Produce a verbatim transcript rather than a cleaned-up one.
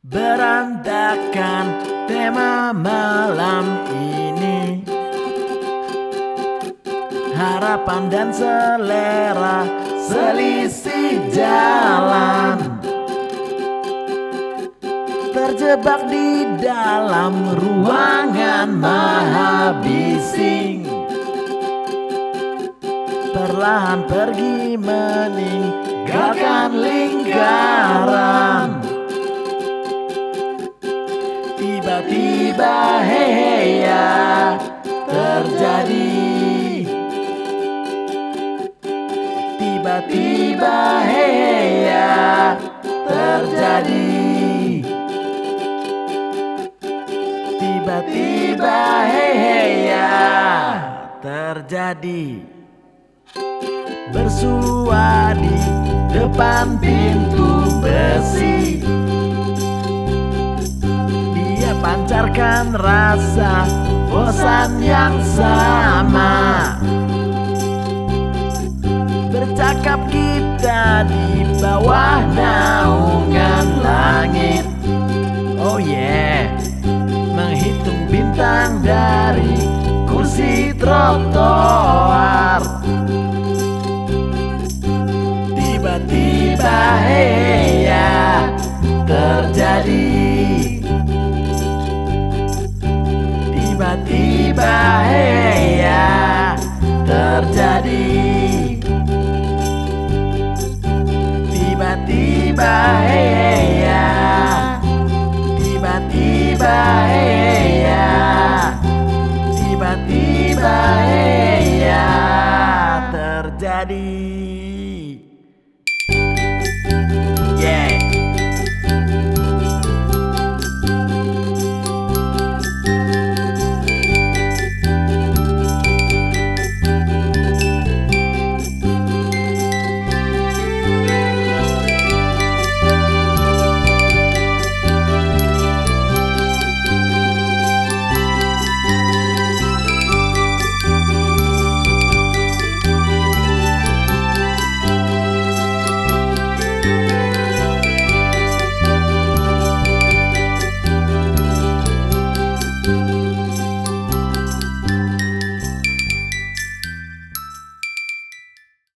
Berantakan tema malam ini, harapan dan selera selisih jalan, terjebak di dalam ruangan maha bising, perlahan pergi meninggalkan lingkaran. Tiba-tiba hei ya terjadi, tiba-tiba hei ya terjadi, tiba-tiba hei ya terjadi. Bersua di depan pintu besi, dia pancarkan rasa bosan yang sama. Bercakap kita di bawah naungan langit, oh yeah, menghitung bintang dari kursi trotoar. Tiba-tiba hei ya terjadi, tiba-tiba hei ya terjadi, tiba-tiba hei ya